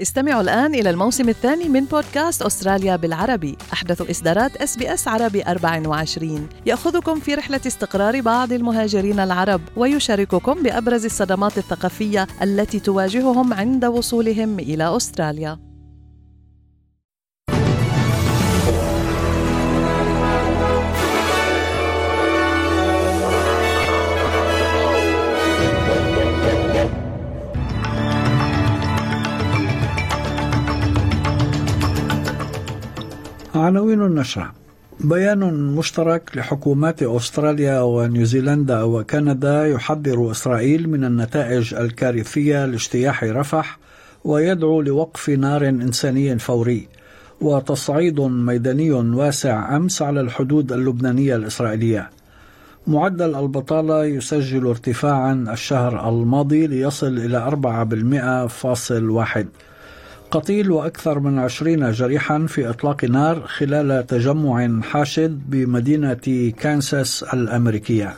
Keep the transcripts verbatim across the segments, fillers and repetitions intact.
استمعوا الآن إلى الموسم الثاني من بودكاست أستراليا بالعربي، أحدث إصدارات إس بي إس عربي أربعة وعشرين، يأخذكم في رحلة استقرار بعض المهاجرين العرب ويشارككم بأبرز الصدمات الثقافية التي تواجههم عند وصولهم إلى أستراليا. عناوين النشرة: بيان مشترك لحكومات أستراليا ونيوزيلندا وكندا يحذر إسرائيل من النتائج الكارثية لاجتياح رفح ويدعو لوقف نار إنساني فوري. وتصعيد ميداني واسع أمس على الحدود اللبنانية الإسرائيلية. معدل البطالة يسجل ارتفاعا الشهر الماضي ليصل إلى أربعة بالمئة فاصل واحد. قتيل وأكثر من عشرين جريحا في إطلاق نار خلال تجمع حاشد بمدينة كانساس الأمريكية.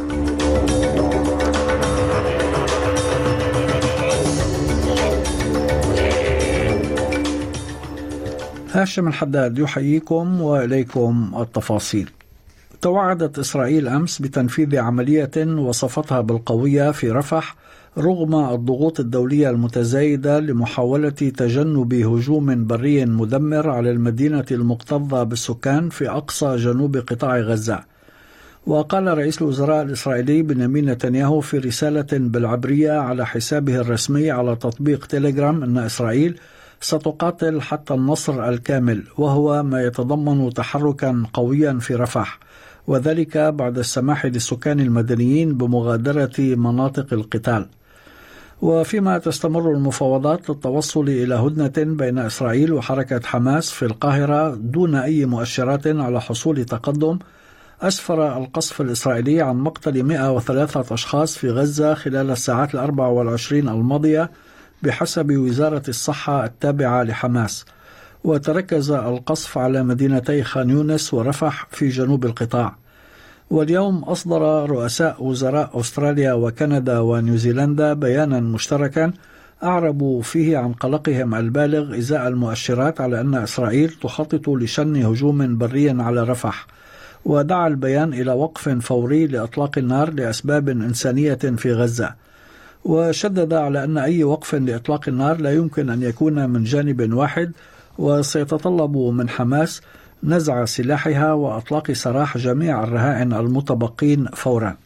هاشم الحداد يحييكم وإليكم التفاصيل. توعدت إسرائيل أمس بتنفيذ عملية وصفتها بالقوية في رفح رغم الضغوط الدولية المتزايدة لمحاولة تجنب هجوم بري مدمر على المدينة المكتظة بالسكان في أقصى جنوب قطاع غزة. وقال رئيس الوزراء الإسرائيلي بنيامين نتنياهو في رسالة بالعبرية على حسابه الرسمي على تطبيق تيليجرام أن إسرائيل ستقاتل حتى النصر الكامل، وهو ما يتضمن تحركا قويا في رفح، وذلك بعد السماح للسكان المدنيين بمغادرة مناطق القتال. وفيما تستمر المفاوضات للتوصل إلى هدنة بين إسرائيل وحركة حماس في القاهرة دون أي مؤشرات على حصول تقدم، أسفر القصف الإسرائيلي عن مقتل مئة وثلاثة أشخاص في غزة خلال الساعات الأربع والعشرين الماضية بحسب وزارة الصحة التابعة لحماس. وتركز القصف على مدينتي خان يونس ورفح في جنوب القطاع. واليوم أصدر رؤساء وزراء أستراليا وكندا ونيوزيلندا بيانا مشتركا أعربوا فيه عن قلقهم البالغ إزاء المؤشرات على أن إسرائيل تخطط لشن هجوم بري على رفح. ودعا البيان إلى وقف فوري لإطلاق النار لأسباب إنسانية في غزة. وشدد على أن أي وقف لإطلاق النار لا يمكن أن يكون من جانب واحد، وسيتطلب من حماس نزع سلاحها وأطلاق سراح جميع الرهائن المتبقين فورا.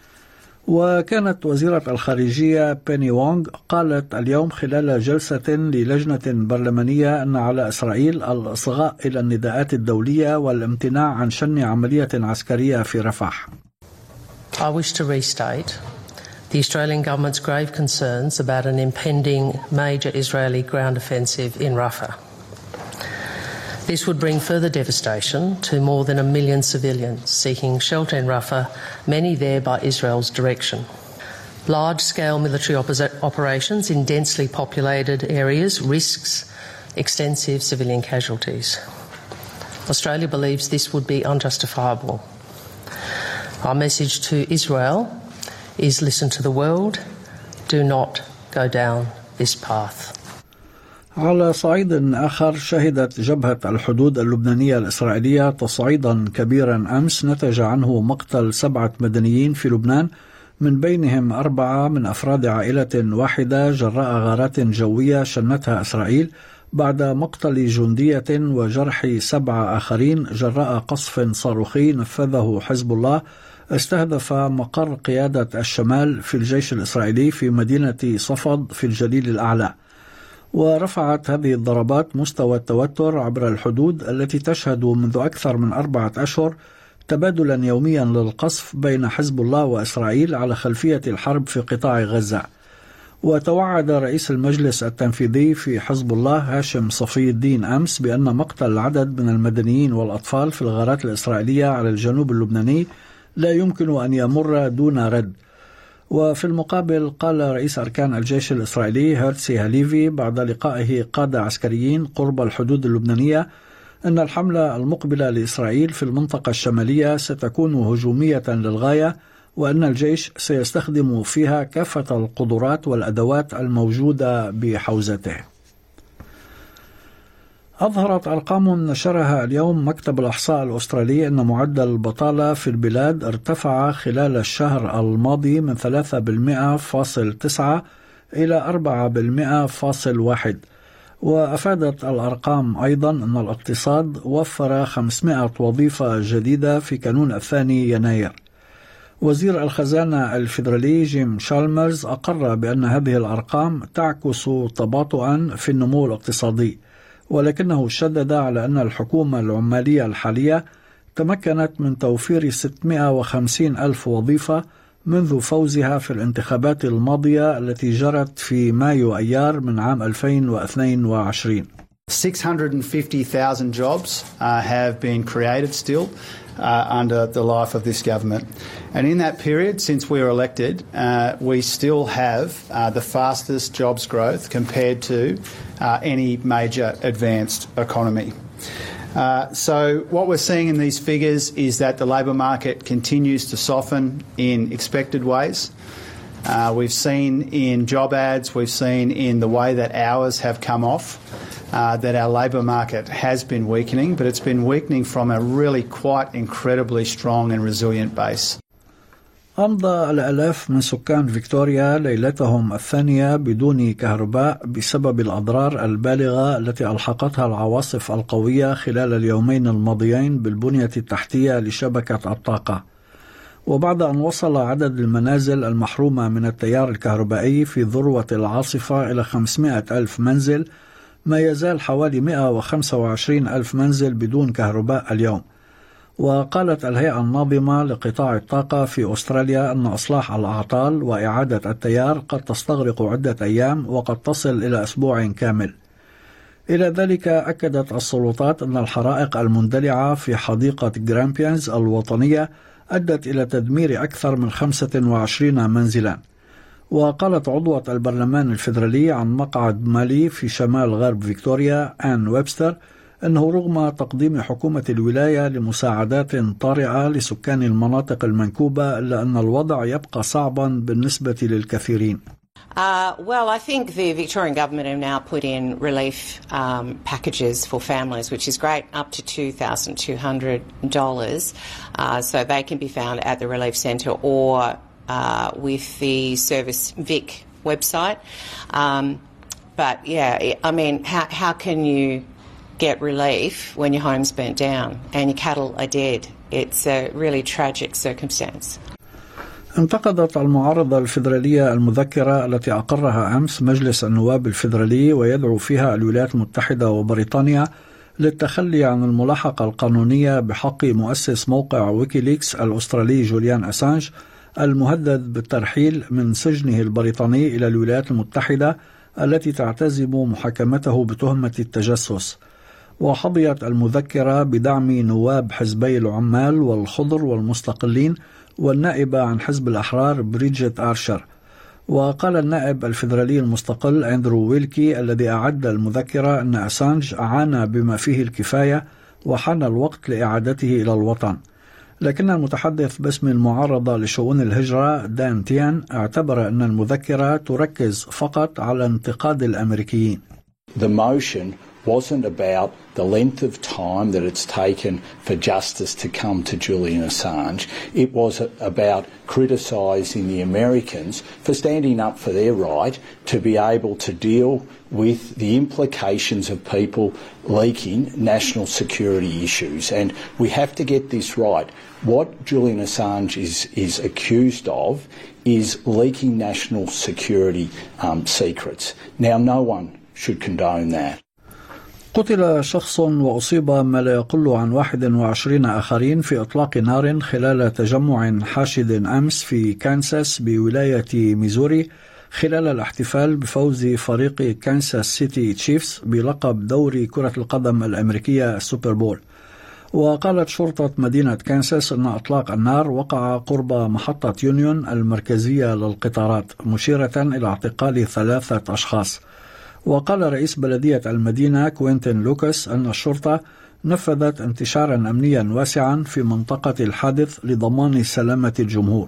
وكانت وزيرة الخارجية بيني وونغ قالت اليوم خلال جلسة للجنة برلمانية أن على إسرائيل الإصغاء إلى النداءات الدولية والامتناع عن شن عملية عسكرية في رفح. I wish to restate the Australian government's grave concerns about an impending major Israeli ground offensive in Rafah. This would bring further devastation to more than a million civilians seeking shelter in Rafah, many there by Israel's direction. Large-scale military operations in densely populated areas risks extensive civilian casualties. Australia believes this would be unjustifiable. Our message to Israel is listen to the world, do not go down this path. على صعيد آخر، شهدت جبهة الحدود اللبنانية الإسرائيلية تصعيدا كبيرا أمس نتج عنه مقتل سبعة مدنيين في لبنان، من بينهم أربعة من أفراد عائلة واحدة جراء غارات جوية شنتها إسرائيل، بعد مقتل جندية وجرح سبعة آخرين جراء قصف صاروخي نفذه حزب الله استهدف مقر قيادة الشمال في الجيش الإسرائيلي في مدينة صفد في الجليل الأعلى. ورفعت هذه الضربات مستوى التوتر عبر الحدود التي تشهد منذ أكثر من أربعة أشهر تبادلا يوميا للقصف بين حزب الله وإسرائيل على خلفية الحرب في قطاع غزة. وتوعد رئيس المجلس التنفيذي في حزب الله هاشم صفي الدين أمس بأن مقتل عدد من المدنيين والأطفال في الغارات الإسرائيلية على الجنوب اللبناني لا يمكن أن يمر دون رد. وفي المقابل قال رئيس أركان الجيش الإسرائيلي هيرتسي هاليفي بعد لقائه قادة عسكريين قرب الحدود اللبنانية أن الحملة المقبلة لإسرائيل في المنطقة الشمالية ستكون هجومية للغاية، وأن الجيش سيستخدم فيها كافة القدرات والأدوات الموجودة بحوزته. أظهرت أرقام نشرها اليوم مكتب الإحصاء الأسترالي أن معدل البطالة في البلاد ارتفع خلال الشهر الماضي من ثلاثة بالمئة فاصل تسعة إلى أربعة بالمئة فاصل واحد. وأفادت الأرقام أيضا أن الاقتصاد وفر خمسمائة وظيفة جديدة في كانون الثاني يناير. وزير الخزانة الفيدرالي جيم شالمرز أقر بأن هذه الأرقام تعكس تباطؤا في النمو الاقتصادي، ولكنه شدد على أن الحكومة العمالية الحالية تمكنت من توفير ستمائة وخمسين ألف وظيفة منذ فوزها في الانتخابات الماضية التي جرت في مايو أيار من عام ألفين واثنين وعشرين. six hundred fifty thousand jobs uh, have been created still uh, under the life of this government. And in that period, since we were elected, uh, we still have uh, the fastest jobs growth compared to uh, any major advanced economy. Uh, so what we're seeing in these figures is that the labour market continues to soften in expected ways. Uh, we've seen in job ads, we've seen in the way that hours have come off, uh, that our labour market has been weakening, but it's been weakening from a really quite incredibly strong and resilient base. أمضى الآلاف من سكان فيكتوريا ليلتهم الثانية بدون كهرباء بسبب الأضرار البالغة التي ألحقتها العواصف القوية خلال اليومين الماضيين بالبنية التحتية لشبكة الطاقة. وبعد أن وصل عدد المنازل المحرومة من التيار الكهربائي في ذروة العاصفة إلى خمسمائة ألف منزل، ما يزال حوالي مائة وخمسة وعشرين ألف منزل بدون كهرباء اليوم. وقالت الهيئة الناظمة لقطاع الطاقة في أستراليا أن إصلاح الأعطال وإعادة التيار قد تستغرق عدة أيام وقد تصل إلى أسبوع كامل. إلى ذلك أكدت السلطات أن الحرائق المندلعة في حديقة جرامبيانز الوطنية أدت إلى تدمير أكثر من خمسة وعشرين منزلا. وقالت عضوة البرلمان الفيدرالي عن مقعد مالي في شمال غرب فيكتوريا آن ويبستر أنه رغم تقديم حكومة الولاية لمساعدات طارئة لسكان المناطق المنكوبة إلا أن الوضع يبقى صعبا بالنسبة للكثيرين. Uh, well, I think the Victorian government have now put in relief um, packages for families, which is great, up to two thousand two hundred dollars. Uh, so they can be found at the Relief Centre or uh, with the Service Vic website. Um, but yeah, I mean, how, how can you get relief when your home's burnt down and your cattle are dead? It's a really tragic circumstance. انتقدت المعارضة الفيدرالية المذكرة التي أقرها أمس مجلس النواب الفيدرالي ويدعو فيها الولايات المتحدة وبريطانيا للتخلي عن الملاحقة القانونية بحق مؤسس موقع ويكيليكس الأسترالي جوليان أسانج المهدد بالترحيل من سجنه البريطاني إلى الولايات المتحدة التي تعتزم محاكمته بتهمة التجسس. وحظيت المذكرة بدعم نواب حزبي العمال والخضر والمستقلين والنائبة عن حزب الأحرار بريجيت آرشر. وقال النائب الفيدرالي المستقل أندرو ويلكي الذي أعد المذكرة أن أسانج عانى بما فيه الكفاية وحان الوقت لإعادته إلى الوطن. لكن المتحدث باسم المعارضة لشؤون الهجرة دان تيان اعتبر أن المذكرة تركز فقط على انتقاد الأمريكيين. The motion wasn't about the length of time that it's taken for justice to come to Julian Assange. It was about criticising the Americans for standing up for their right to be able to deal with the implications of people leaking national security issues. And we have to get this right. What Julian Assange is, is accused of is leaking national security um, secrets. Now, no one should condone that. قتل شخص وأصيب ما لا يقل عن واحد وعشرين آخرين في إطلاق نار خلال تجمع حاشد أمس في كانساس بولاية ميزوري خلال الاحتفال بفوز فريق كانساس سيتي تشيفز بلقب دوري كرة القدم الأمريكية السوبر بول. وقالت شرطة مدينة كانساس أن إطلاق النار وقع قرب محطة يونيون المركزية للقطارات، مشيرة إلى اعتقال ثلاثة أشخاص. وقال رئيس بلدية المدينة كوينتين لوكاس أن الشرطة نفذت انتشارا أمنيا واسعا في منطقة الحادث لضمان سلامة الجمهور.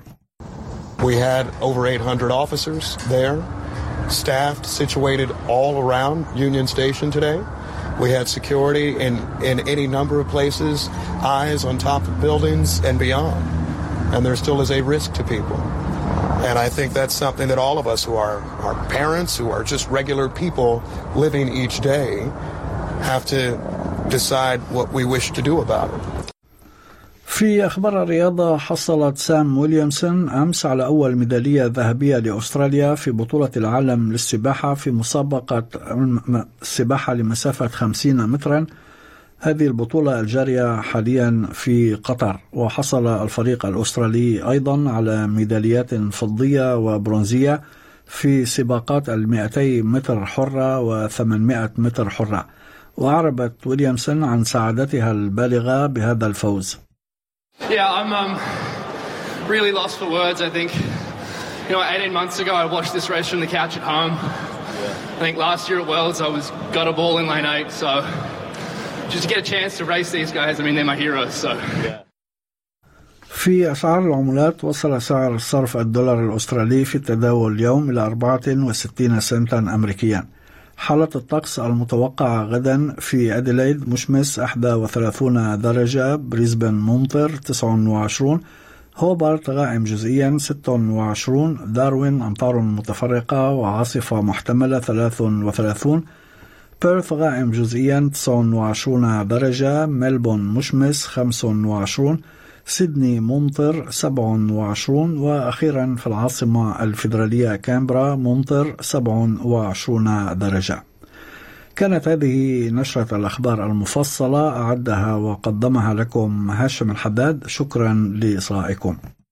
We had over eight hundred officers there, staffed, situated all around Union Station today. We had security in, in any number of places, eyes on top of buildings and beyond. And there still is a risk to people. And I think that's something that all of us who are, are parents, who are just regular people living each day, have to decide what we wish to do about it. في أخبار الرياضة، حصلت سام ويليامسون أمس على أول ميدالية ذهبية لأستراليا في بطولة العالم للسباحة في مسابقة السباحة لمسافة خمسين مترا. هذه البطولة الجارية حاليا في قطر، وحصل الفريق الأسترالي أيضا على ميداليات فضية وبرونزية في سباقات المئتي متر حرة وثمانمائة متر حرة. وأعربت ويليامسون عن سعادتها البالغة بهذا الفوز. Yeah, I'm um, really lost for words, I think. You know, eighteen months ago I watched this race from the couch at home. Yeah. I think last year at Worlds I was got a ball in lane eight, so just to get a chance to race these guys, I mean, they're my heroes, so... Yeah. في أسعار العملات، وصل سعر صرف الدولار الأسترالي في التداول اليوم إلى أربعة وستين سنتا أمريكيا. حالة الطقس المتوقعة غدا: في أديلايد مشمس واحد وثلاثين درجة، بريسبن ممطر تسعة وعشرين، هوبارت غائم جزئيا ستة وعشرين، داروين أمطار متفرقة وعاصفة محتملة ثلاثة وثلاثين، بيرث غائم جزئيا تسعة وعشرين درجة، ملبون مشمس خمسة وعشرين، سيدني ممطر سبعة وعشرين، وأخيرا في العاصمة الفيدرالية كامبرا ممطر سبعة وعشرين درجة. كانت هذه نشرة الأخبار المفصلة، أعدها وقدمها لكم هاشم الحداد. شكرا لإصغائكم.